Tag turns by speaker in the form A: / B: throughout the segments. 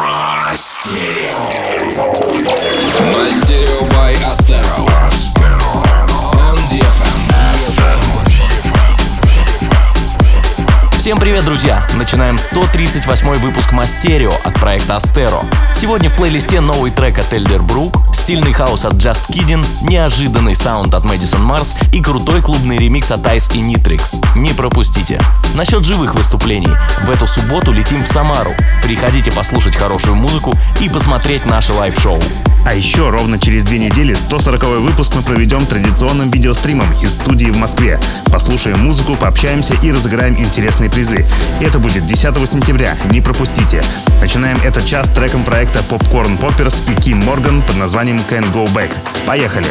A: Мастерио by Astero. On DFM.
B: Всем привет, друзья! Начинаем 138-й выпуск Мастерио от проекта Astero. Сегодня в плейлисте новый трек от Elderbrook, стильный хаус от Just Kidding, неожиданный саунд от Madison Mars и крутой клубный ремикс от Ice и Nitrix. Не пропустите. Насчет живых выступлений. В эту субботу летим в Самару. Приходите послушать хорошую музыку и посмотреть наше лайв-шоу.
C: А еще ровно через 2 недели 140-й выпуск мы проведем традиционным видеостримом из студии в Москве. Послушаем музыку, пообщаемся и разыграем интересные призы. Это будет 10 сентября, не пропустите. Начинаем этот час треком проекта Popcorn Poppers и Kim Morgan под названием Can't Go Back. Поехали!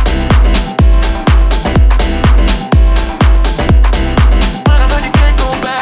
D: Back.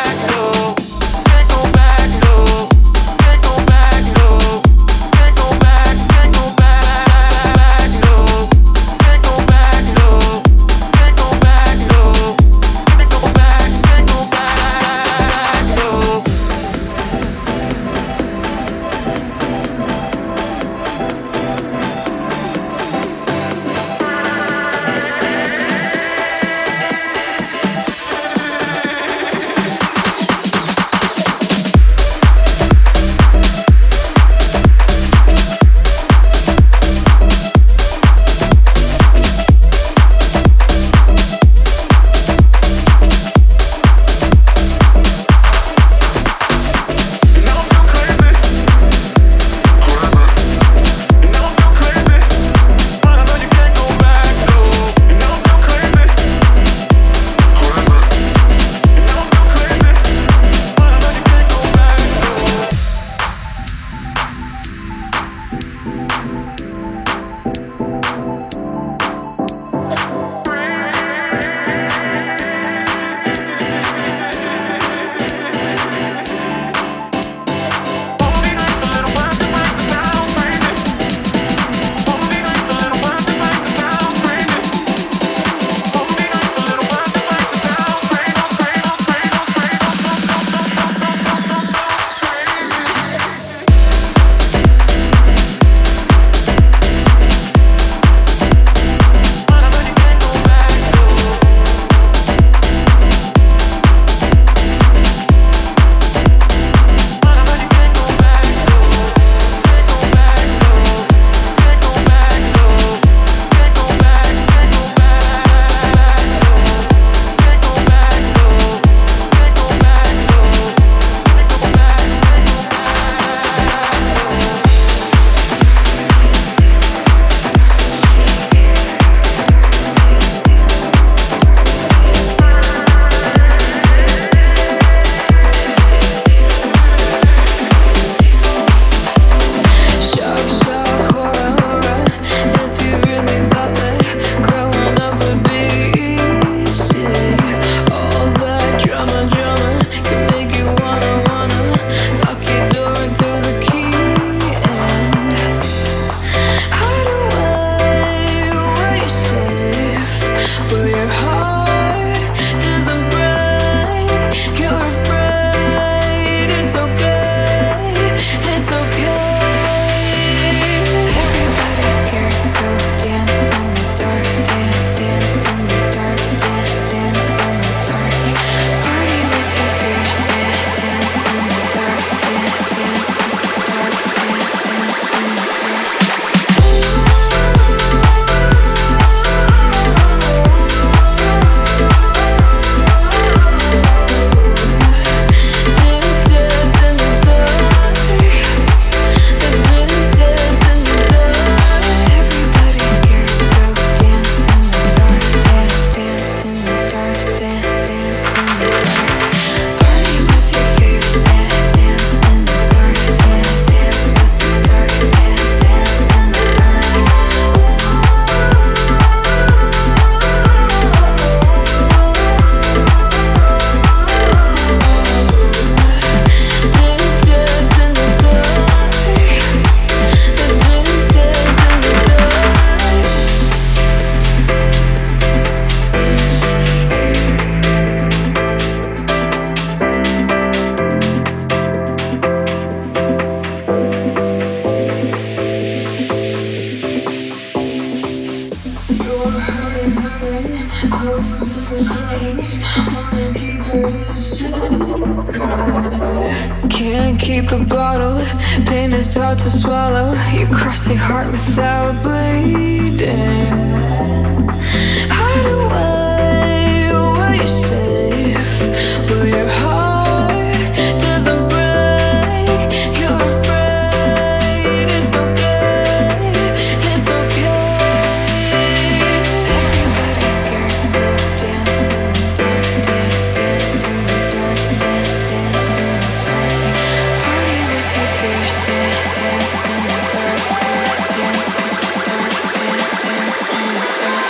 D: Can't keep a bottle, pain is hard to swallow. You cross your heart without bleeding. Hide away where you're safe, where your heart doesn't break. You're afraid, it's okay, it's okay. Everybody's scared, so dance in the dark, dance in the dark, dance in the dark. Party with your fears, dance in the dark, dance in the dark, dance in the dark.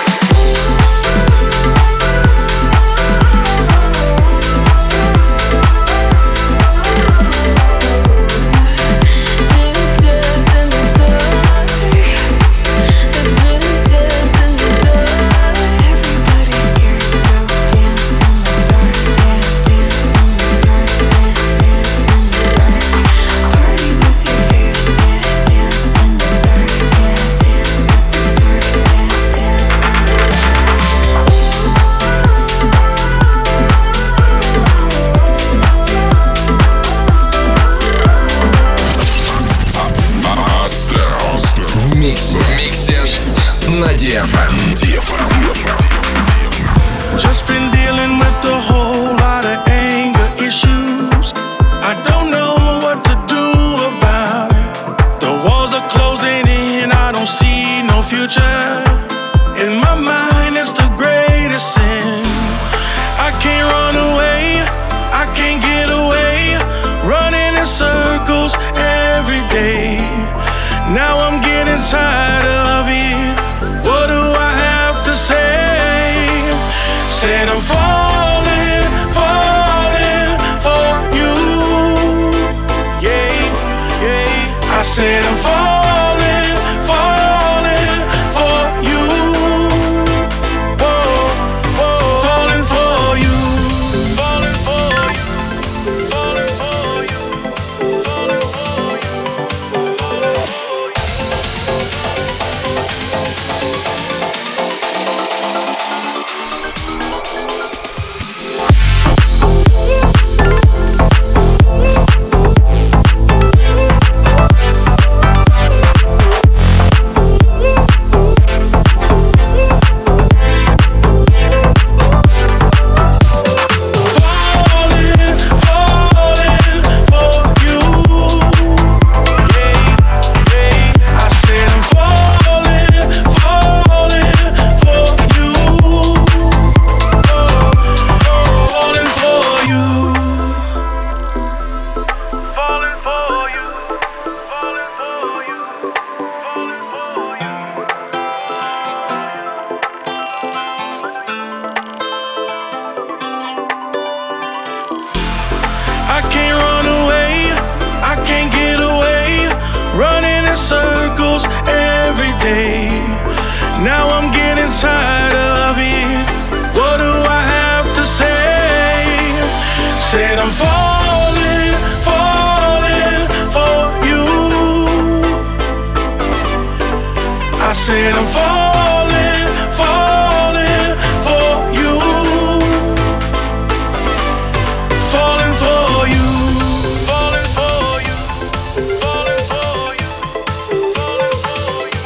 A: В миксе на DFM.
E: Just been dealing with a whole lot of anger issues. I don't know what to do about it. The walls are closing in, I don't see no future. In my mind, it's the greatest sin. I can't run away, I can't get away. Running in circles every day. Now I'm getting tired of it. What do I have to say? Said I'm falling, falling for you. Yeah, yeah. I said I'm falling, falling for you. Whoa, whoa. Falling for you. Falling for you. Falling for you. Falling for you. I can't run away, I can't get away. Running in circles every day. Now I'm getting tired of it. What do I have to say? Said I'm falling, falling for you. I said I'm falling, falling for you. Falling for you. Falling for you. Falling for you. Falling for you.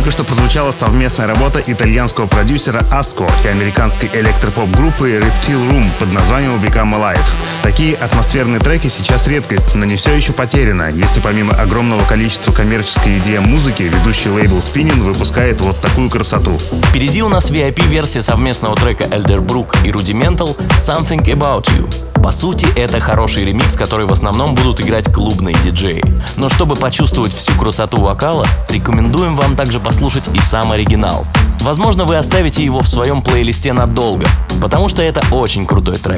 C: Только что прозвучала совместная работа итальянского продюсера Аско и американской электропоп-группы Reptile Room под названием Become Alive. Такие атмосферные треки сейчас редкость, но не все еще потеряно, если помимо огромного количества коммерческой EDM музыки, ведущий лейбл Spinnin выпускает вот такую красоту.
B: Впереди у нас VIP-версия совместного трека Elderbrook и Rudimental «Something About You». По сути, это хороший ремикс, который в основном будут играть клубные диджеи. Но чтобы почувствовать всю красоту вокала, рекомендуем вам также послушать и сам оригинал. Возможно, вы оставите его в своем плейлисте надолго, потому что это очень крутой трек.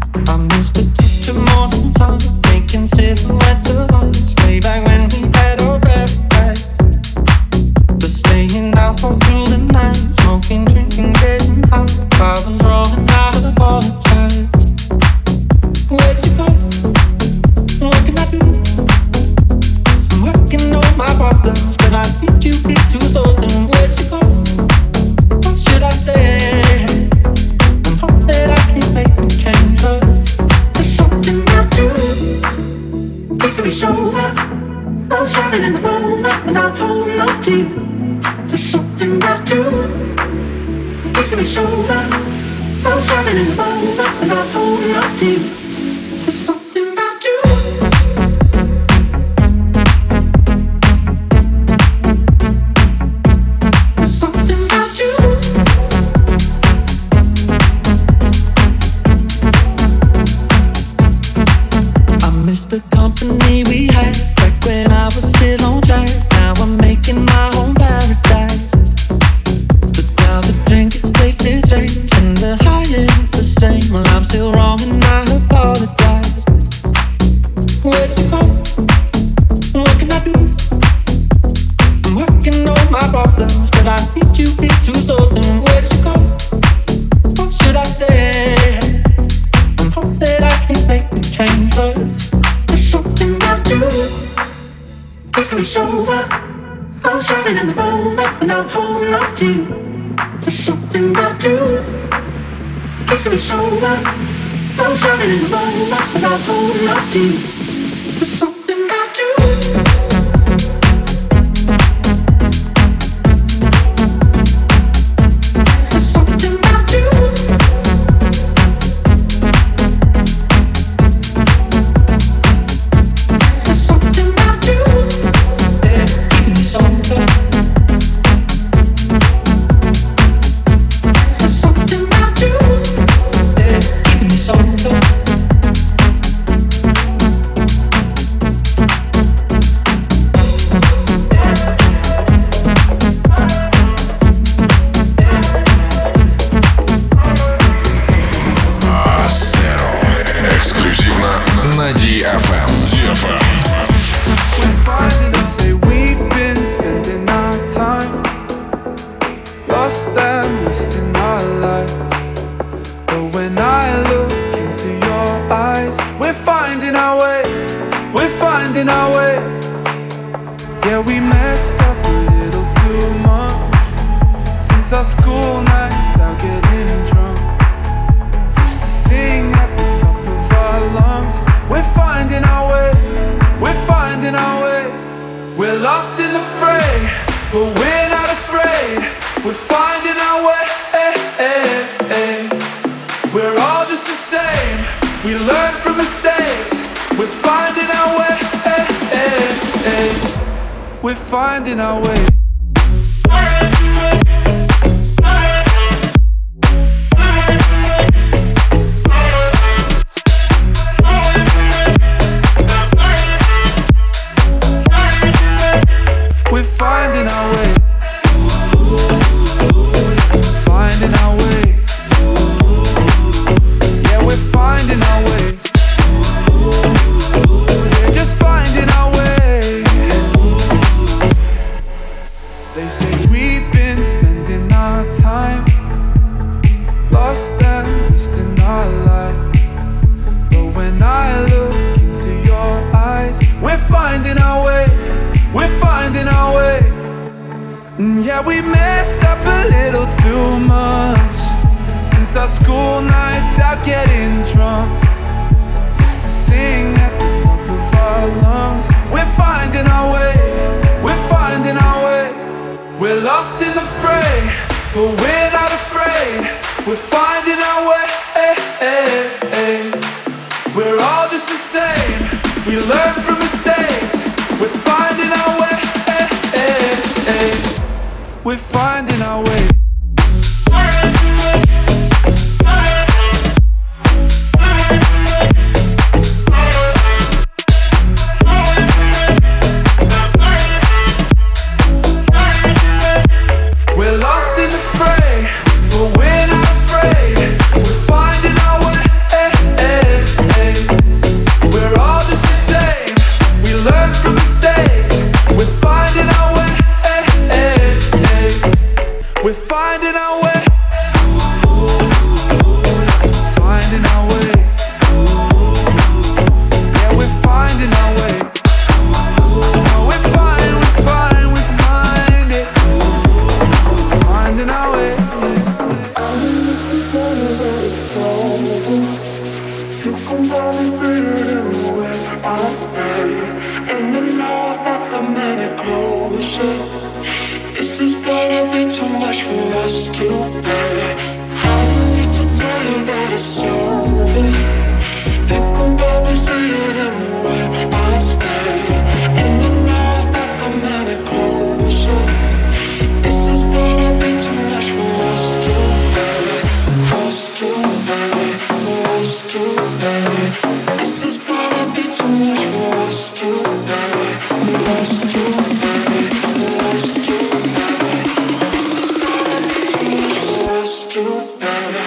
F: Where'd you go? What can I do? I'm working on my problems, but I need you here to solve them. Where'd you go? What should I say? I'm hoping that I can make a change, but there's something about you. Makes me so hot. I'm shining in the moonlight and I'm holding on to you. There's something about you. Makes me so hot. I'm shining in the moonlight and I'm holding on to you. The company we had back when I was still on track. Now I'm making my own paradise. But now the drink is tasting strange and the high isn't the same. Well, I'm still wrong and I apologize. Where'd you go? What can I do? I'm working on my problems, but I need you here to solve them. Where'd you go? What should I say? I'm hoping that I can make a change, but something about you makes me so hot. I'm shining in the moonlight and I'm holding on to you. There's something about you makes me so hot. I'm shining in the moonlight and I'm holding on to you. There's something about you.
A: на DFM.
G: We're finding and say we've been spending our time lost and wasting our life. But when I look into your eyes, we're finding our way. We're finding our way. Yeah, we messed up a little too much since our school nights out getting drunk. Used to sing at the top of our lungs. We're finding our way. We're finding our way. We're lost in the fray, but we're not afraid. We're finding our way. We're all just the same. We learn from mistakes. We're finding our way. We're finding our way. We're finding our way. Finding our way. Yeah, we're finding our way. Yeah, just finding our way. They say we've been spending our time lost and wasting our life. But when I look into your eyes, we're finding our way. We're finding our way. Yeah, we messed up a little too much since our school nights out getting drunk. Used to sing at the top of our lungs. We're finding our way. We're finding our way. We're We're lost in the fray, but we're not afraid. We're finding our way. We're all just the same. We learn from mistakes. We're finding our way. We're finding our way. We're lost in the fray, but we're not afraid. We're finding our way. We're all just the same. We learn from mistakes. We're finding our way. We're finding our way. Finding our way. Yeah, we're finding our way. No, we're fine, we find it. Finding our way.
H: And the more that the minute closer, this is gonna be too much for us to bear. I don't need to tell you that it's over. You can probably see it in the way I stare. And the more that the minute closer, this is gonna be too much for us to bear. Us to bear, for us to bear. This is gonna be too much for us to bear. For us to bear, for us to bear. This is gonna be too much for us to bear.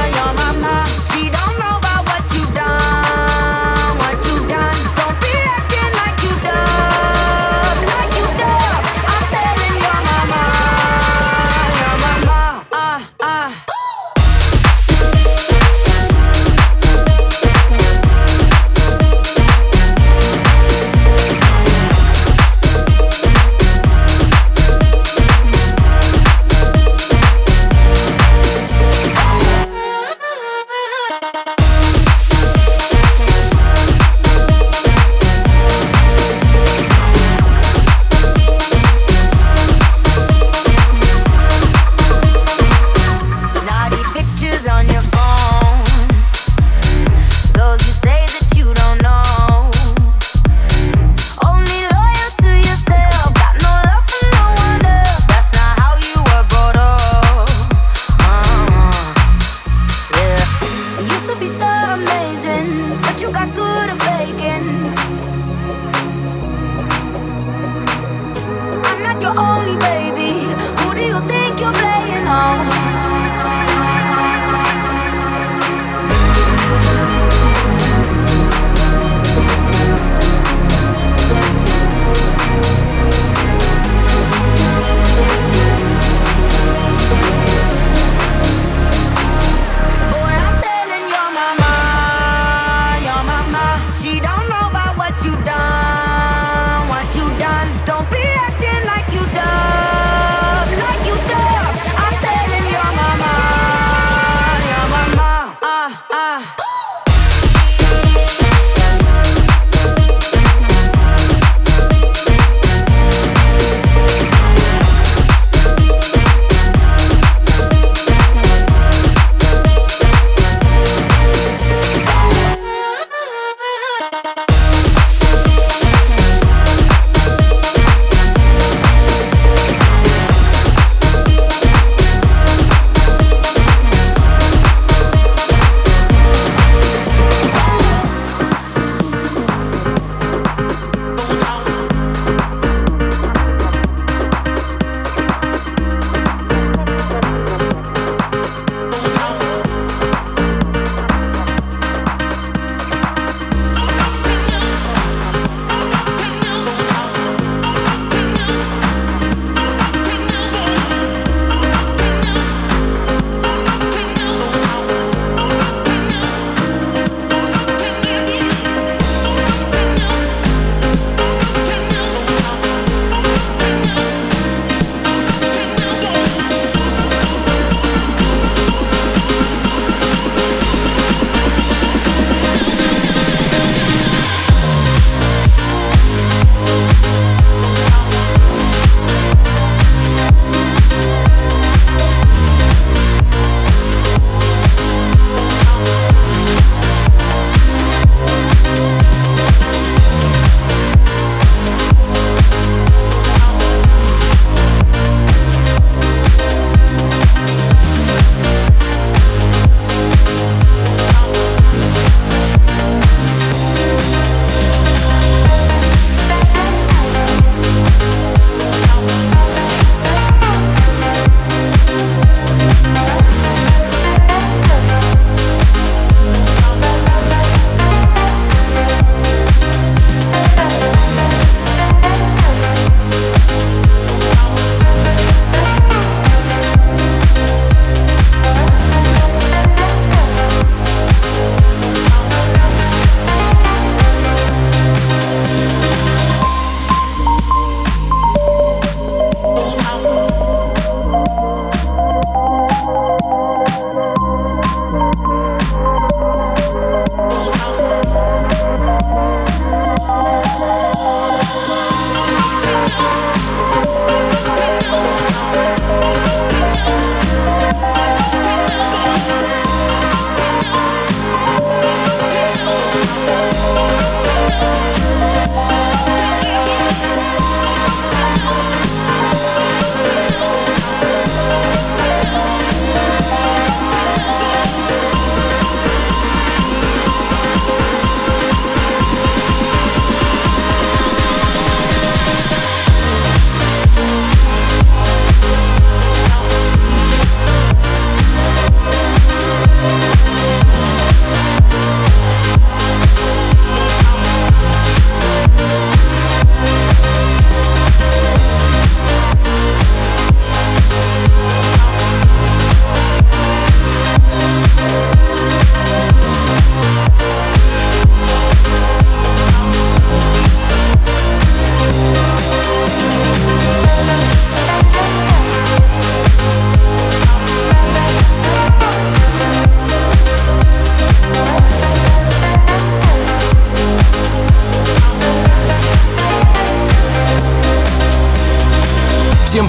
I: She don't know about what you done, what you done. Don't react got good at faking. I'm not your only baby. Who do you think you're playing on?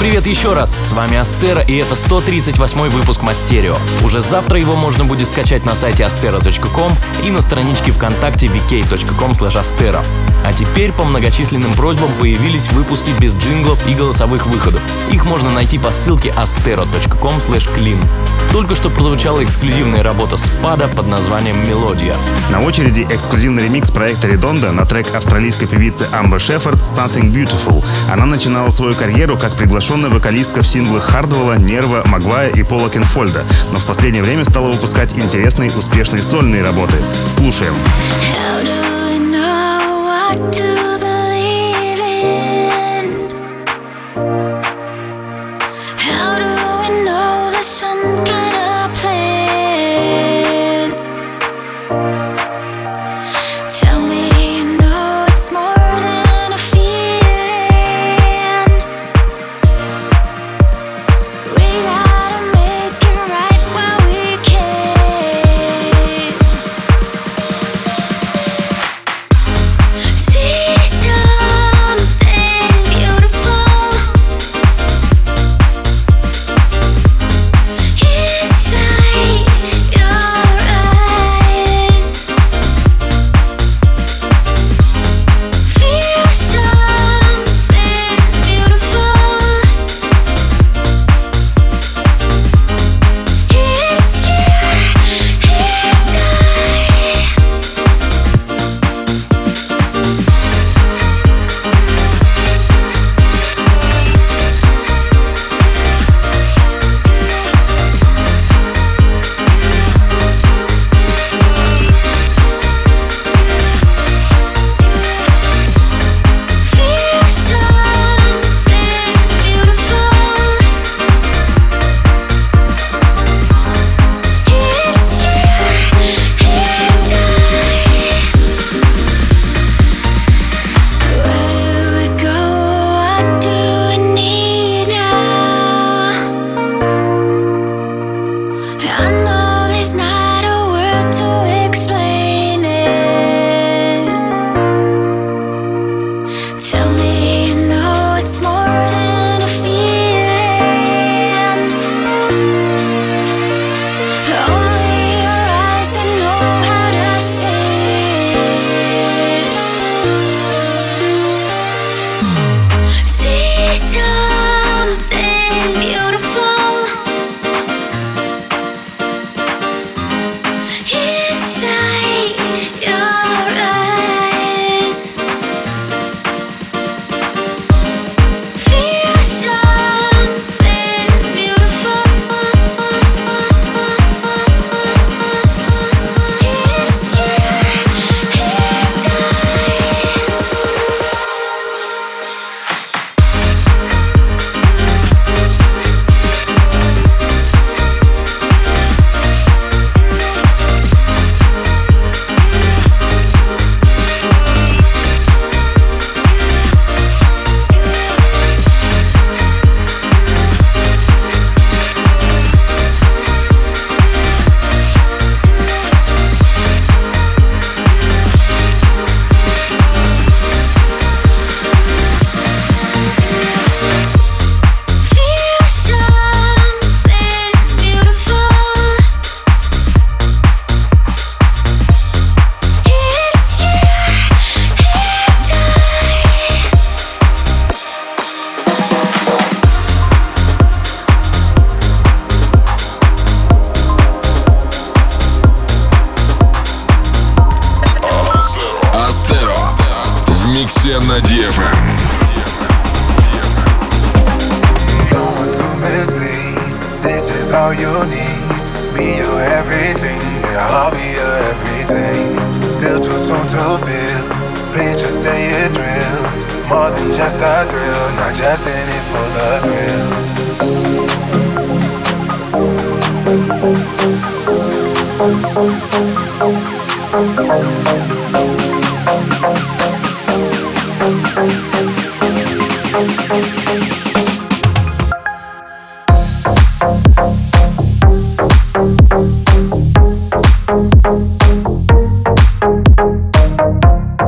B: привет еще раз! С вами Астера, и это 138-й выпуск Мастерио. Уже завтра его можно будет скачать на сайте astero.com и на страничке ВКонтакте vk.com/astero. А теперь по многочисленным просьбам появились выпуски без джинглов и голосовых выходов. Их можно найти по ссылке astero.com/clean. Только что прозвучала эксклюзивная работа Спада под названием «Мелодия».
C: На очереди эксклюзивный ремикс проекта Redondo на трек австралийской певицы Амбер Шеффорд «Something Beautiful». Она начинала свою карьеру как приглашенная вокалистка в синглах Хардвелла, Нерва, Магвая и Пола Кенфольда, но в последнее время стала выпускать интересные, успешные сольные работы. Слушаем.
A: миксе на DFM.
J: This is all you need. Be your everything, yeah, I'll be your everything. Still too soon to feel. Please just say it's real. More than just a thrill, not just in it for the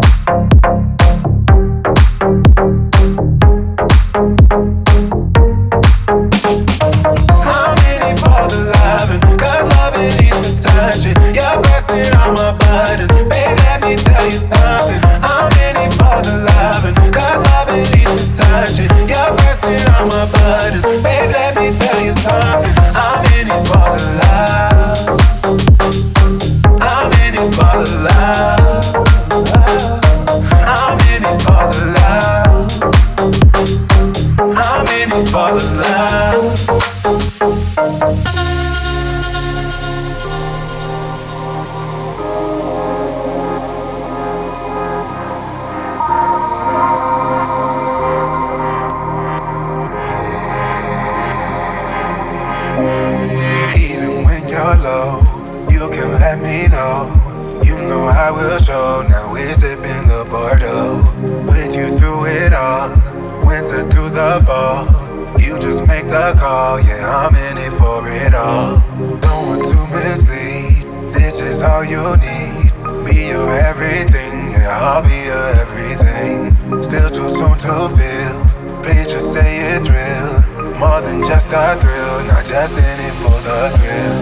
J: thrill. tell you something. I'm in it for the loving, cause loving leads to touching. You're pressing on my buttons, babe, let me tell you something. I'm in it for the love. I'm in it for the love. I'm in it for the love. I'm in it for the love. Even when you're low, you can let me know. You know I will show. Now we're sipping the Bordeaux, with you through it all, winter through the fall. You just make the call, yeah, I'm in it for it all. Don't want to mislead, this is all you need. Be your everything, yeah, I'll be your everything. Still too soon to feel, please just say it's real. More than just a thrill, not just in it for the thrill.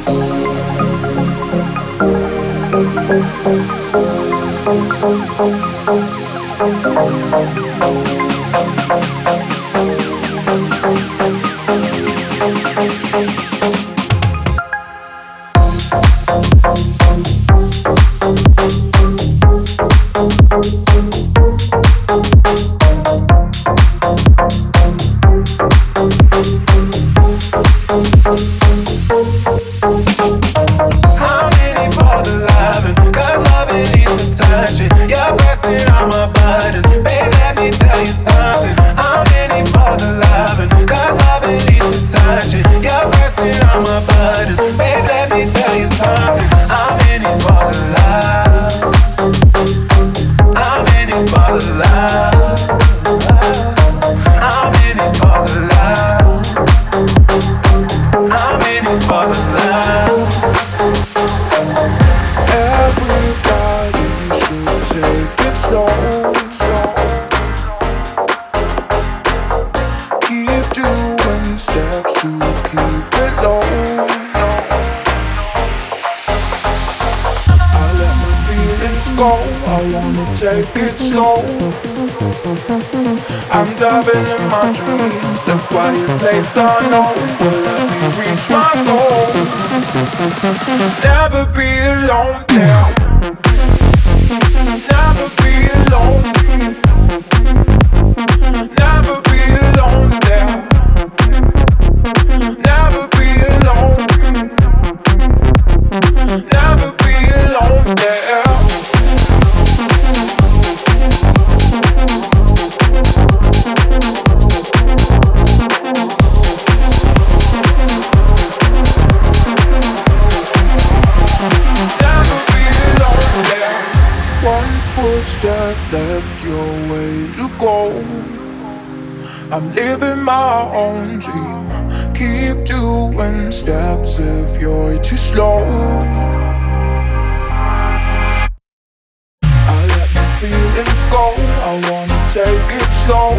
G: Take it slow. I'm diving in my dreams, a quiet place unknown will let me reach my goal. Never be alone there. Never be alone. Never be alone there. Never be alone. Never be alone there. Footstep left your way to go. I'm living my own dream. Keep doing steps if you're too slow. I let my feelings go. I wanna take it slow.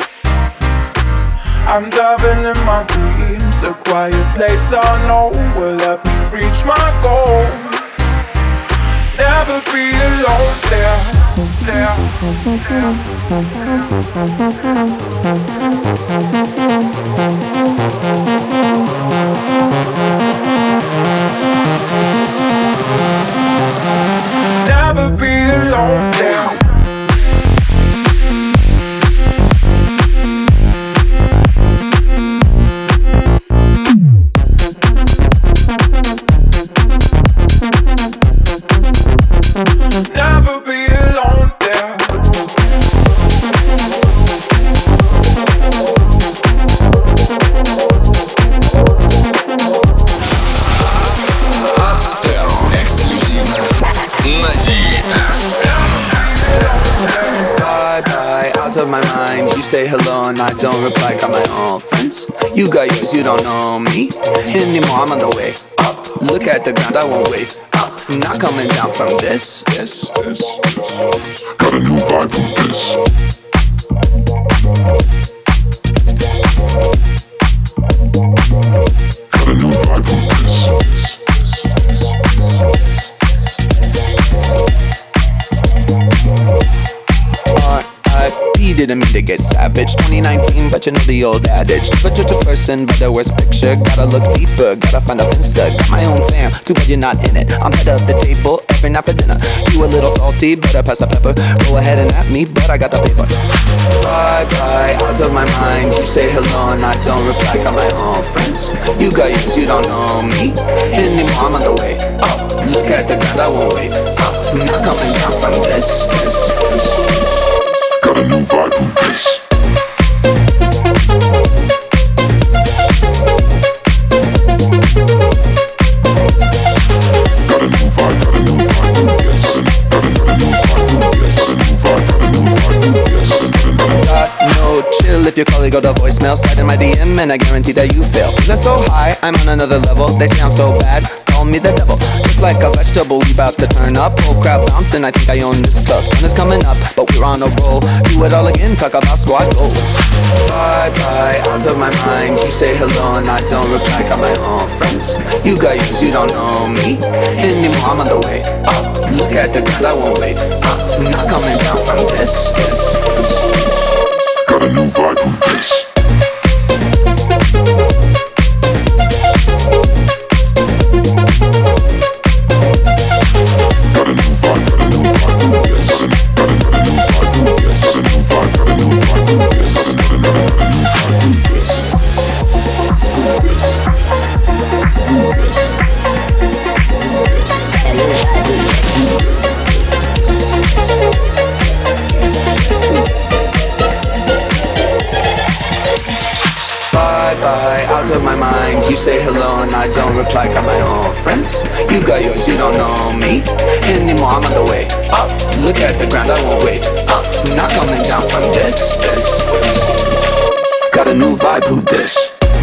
G: I'm diving in my dreams. A quiet place I know will let me reach my goal. Never be alone there. Never be alone there. Never be alone there.
A: Астеро эксклюзивно на DFM.
K: Bye bye, out of my mind. You say hello and I don't reply. Got my own friends. You got yours, you don't know me anymore. I'm on the way up. Look at the ground, I won't wait up. I'm not coming down from this.
A: Got a new vibe with this. Got a new vibe with this.
K: didn't mean to get savage. 2019, but you know the old adage. Never judge a person by their worst picture. Gotta look deeper, gotta find a finsta. Got my own fam, too bad you're not in it. I'm head of the table every night for dinner. You a little salty, better pass the pepper. Go ahead and at me, but I got the paper. Bye bye, out of my mind. You say hello and I don't reply. Got my own friends. You got yours, you don't know me anymore. I'm on the way up. Look at the ground, I won't wait up. I'm not coming down from this.
A: Got a new vibe from this.
K: If your colleague go to voicemail, slide in my DM and I guarantee that you fail. Feeling so high, I'm on another level. They sound so bad, call me the devil. Just like a vegetable, we bout to turn up. Whole crowd bouncing, I think I own this club. Sun is coming up, but we're on a roll. Do it all again, talk about squad goals. Bye bye, out of my mind. You say hello and I don't reply. Got my own friends. You got yours, you don't know me anymore. I'm on the way up. Look at the ground, I won't wait up. I'm not coming down from this.
A: Got a new vibe from this.
K: You say hello and I don't reply. Got my own friends. You got yours, you don't know me anymore. I'm on the way up. Look at the ground, I won't wait up. I'm not coming down from this. Got a new vibe, who this?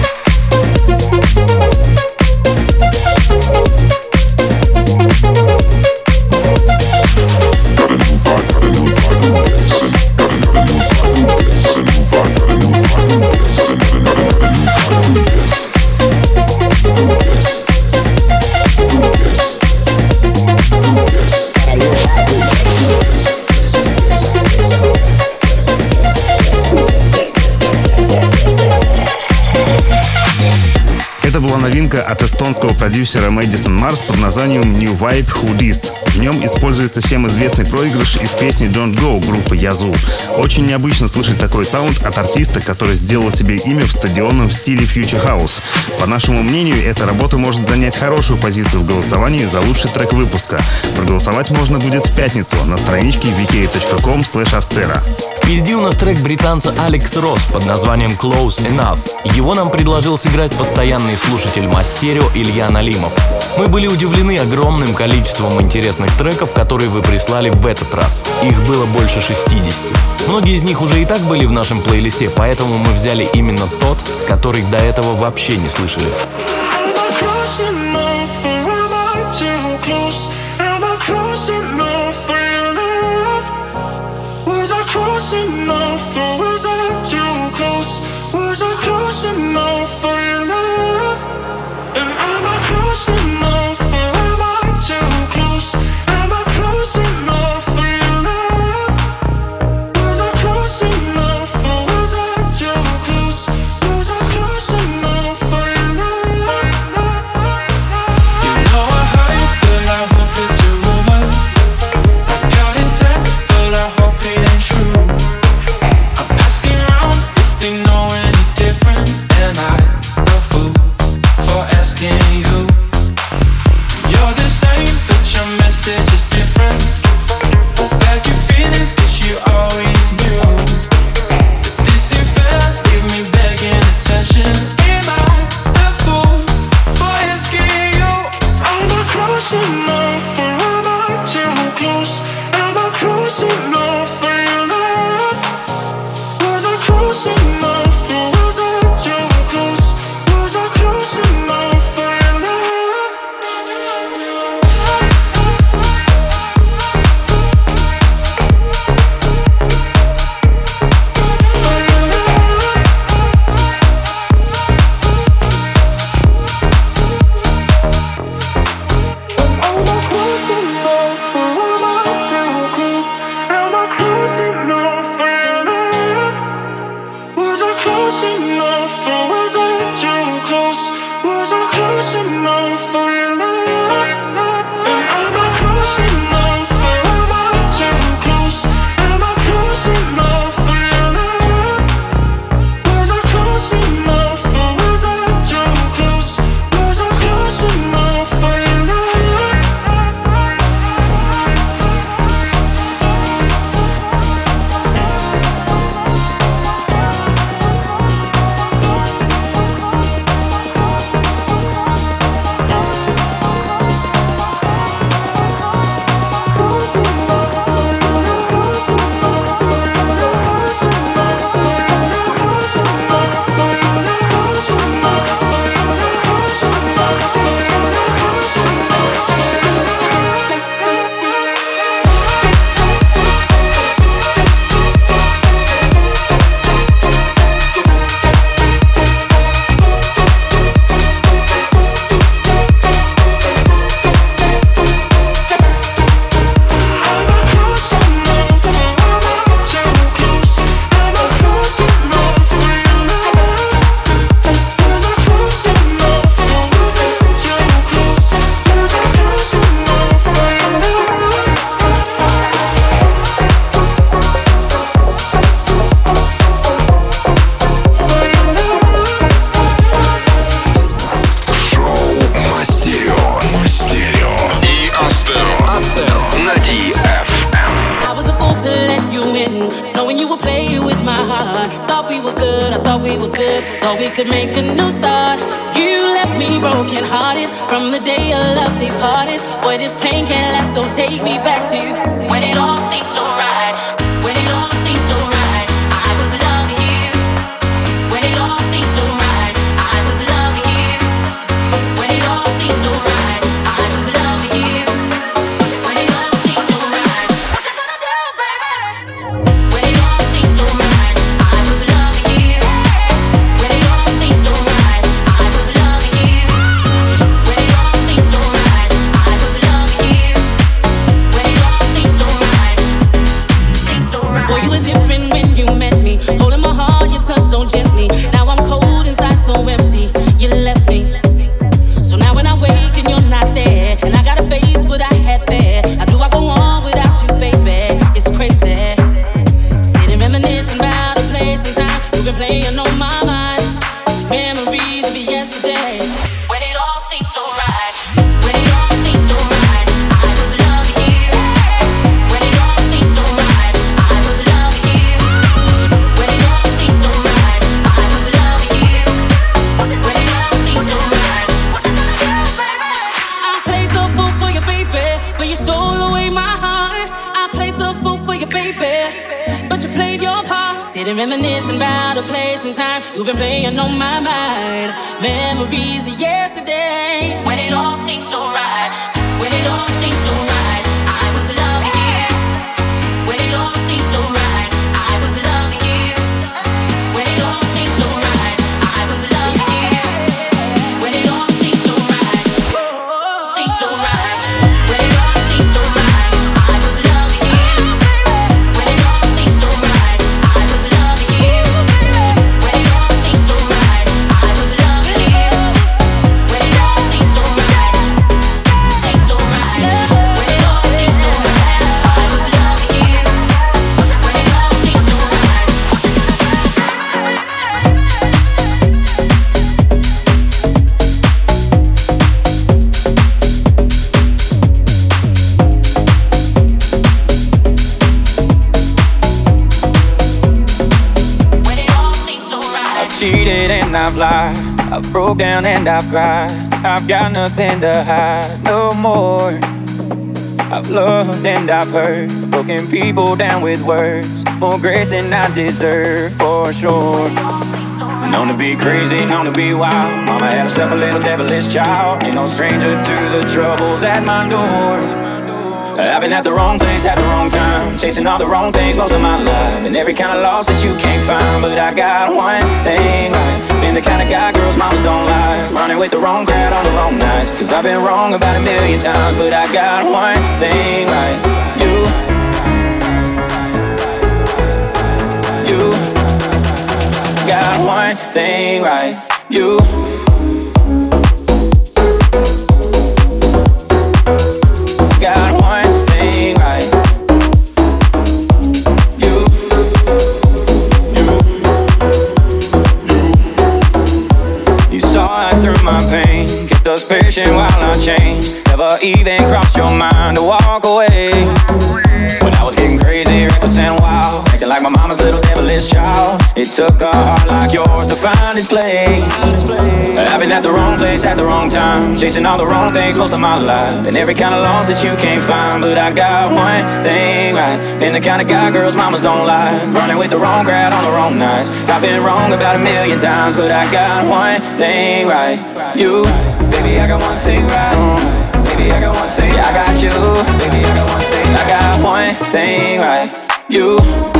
C: Новинка от эстонского продюсера Мэдисон Марс под названием New Vibe Who This. В нем используется всем известный проигрыш из песни Don't Go группы Yazoo. Очень необычно слышать такой саунд от артиста, который сделал себе имя в стадионном стиле Future House. По нашему мнению, эта работа может занять хорошую позицию в голосовании за лучший трек выпуска. Проголосовать можно будет в пятницу на страничке vk.com/astera.
B: Впереди у нас трек британца Алекс Росс под названием Close Enough. Его нам предложил сыграть постоянный слушатель Мастерио Илья Налимов. Мы были удивлены огромным количеством интересных треков, которые вы прислали в этот раз. Их было больше 60. Многие из них уже и так были в нашем плейлисте, поэтому мы взяли именно тот, который до этого вообще не слышали.
H: Close enough, or was I too close? Was I close enough for your love? And am I close enough, or am I too close? Am I close enough for your love? Was I close enough, or was I too close? Was I close enough for your love? You know I heard that I won't
L: you, knowing you would play with my heart. Thought we were good, I thought we were good, thought we could make a new start. You left me broken hearted from the day your love departed. Boy, this pain can't last, so take me back to you. When it all seems so right, when it all seems so right, I was loving you. When it all seems so right, I was loving you. When it all seems so right, I was loving you. When it all seems so right, what you gonna do, baby? When it all seems so right, I was loving you. When it all seems so right, I was loving you. When it all seems so right, I was loving you. When it all seems so right, boy, you were different when you met me. Holding my heart, you touched so gently. Now I'm cold inside, so empty. You left me. So now when I wake and you're not there, and I gotta face what I had there, how do I go on without you, baby? It's crazy. Sitting reminiscing about a place and time you've been playing on my mind. Memories of yesterday. When it all seems so right, when it all seems so right, I was loving you. When it all seems so right, I was loving you. When it all seems so right, I was loving you. When it all seems so right, I played the fool for you, baby, but you stole away my heart. I played the fool for you, baby, but you played your part. Sitting reminiscing about a place and time you've been playing on my mind. Memories of yesterday. When it all seems so right, when it all seems so right, I was loving you. When it all seems so right, I was loving you. When it all seems so right, I was loving you. When it all seems so right, seems so right. When it all seems so right, I was loving you. When it all seems so right, I was loving you. When it all seems so right, I was loving you. When it all seems so right, seems so right. When it all seems so right, I was loving you. When it all seems so right.
M: I've cheated and I've lied, I've broke down and I've cried. I've got nothing to hide no more. I've loved and I've hurt, broken people down with words, more grace than I deserve for sure. Known to be crazy, known to be wild. Mama had herself a little devilish child. Ain't no stranger to the troubles at my door. I've been at the wrong place at the wrong time, chasing all the wrong things most of my life, and every kind of loss that you can't find. But I got one thing right, been the kind of guy girls mamas don't like, running with the wrong crowd on the wrong nights. Cause I've been wrong about a million times, but I got one thing right. You got one thing right. You got one thing right. You saw it through my pain, kept us patient while I changed. Never even crossed your mind to walk away. When I was getting crazy, reckless and wild, acting like my mama's little devilish child. It took a heart like yours to find its place. I've been at the wrong place at the wrong time, chasing all the wrong things most of my life, and every kind of loss that you can't find. But I got one thing right, been the kind of guy girls mamas don't like, running with the wrong crowd on the wrong nights. I've been wrong about a million times, but I got one thing right. You, baby, I got one thing right. Baby, I got one thing, I got you. Baby, I got one thing, I got one thing right. You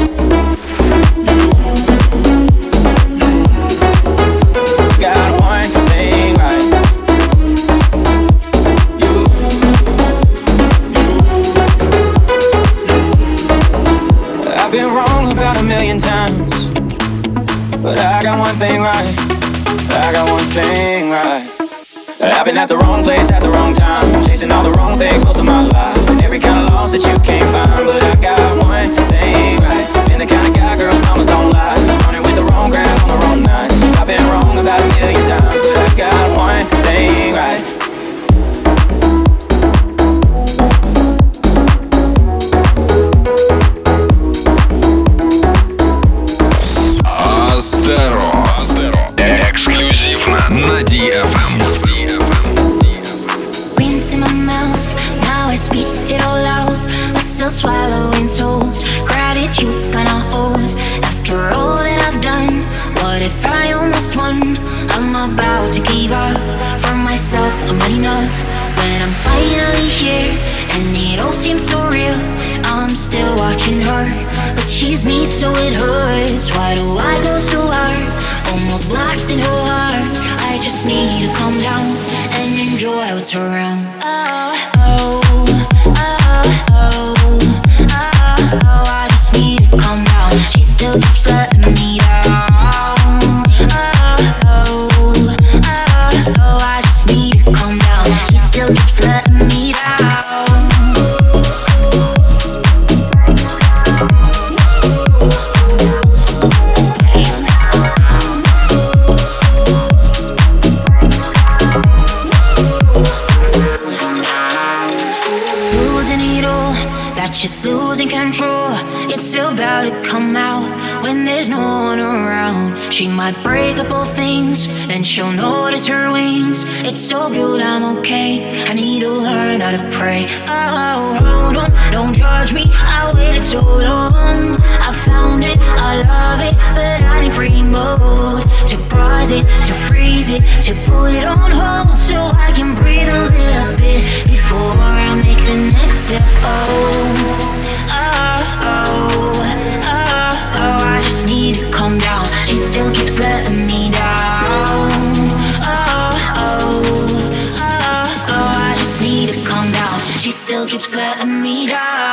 M: got one thing right. I've been wrong about a million times, but I got one thing right. I got one thing right. I've been at the wrong place at the wrong time, chasing all the wrong things most of my life, and every kind of loss that you can't find. But I got one thing right, been the kind of guy girls mamas don't lie, running with the wrong crowd on the wrong night. I've been wrong about a million times, but I got one thing right.
N: finally here, and it all seems so real. I'm still watching her, but she's me, so it hurts. Why do I go so hard? Almost blasting her heart. I just need to calm down and enjoy what's around. I just need to calm down. She still keeps letting me down. I just need to calm down. She still keeps letting me down. Shit's losing control. It's still about to come out when there's no one around. She might break up all things, then she'll notice her wings. It's so good, I'm okay. I need to learn how to pray. Oh, hold on, don't judge me. I waited so long. I found it, I love it, but I need free mode to pause it, to freeze it, to put it on hold so I can breathe a little bit before I make the next step. I just need to calm down. She still keeps letting me down. I just need to calm down. She still keeps letting me down.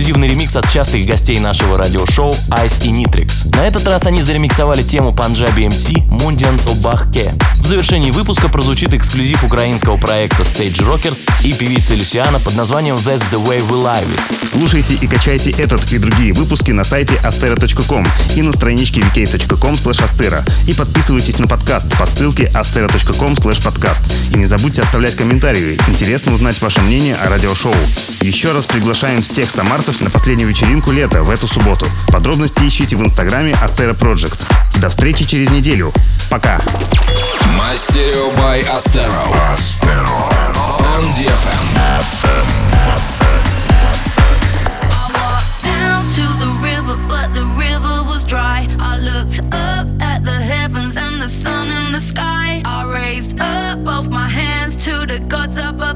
B: эксклюзивный ремикс от частых гостей нашего радиошоу Ice и Nitrix. На этот раз они заремиксовали тему Punjabi MC Mundian Тобахке. В завершении выпуска прозвучит эксклюзив украинского проекта Stage Rockers и певицы Люсиана под названием That's the Way We Live It.
C: Слушайте и качайте этот и другие выпуски на сайте astero.com и на страничке vk.com/astero. И подписывайтесь на подкаст по ссылке astero.com/podcast. И не забудьте оставлять комментарии. Интересно узнать ваше мнение о радиошоу. Еще раз приглашаем всех самарцев на последнюю вечеринку лета в эту субботу. Подробности ищите в инстаграме Astero Project. До встречи через неделю. Пока.
O: Мастерио by Astero. On DFM.
N: Down to the river, but the river was dry. I looked up at the heavens and the sun in the sky. I raised up both my hands to the gods up above.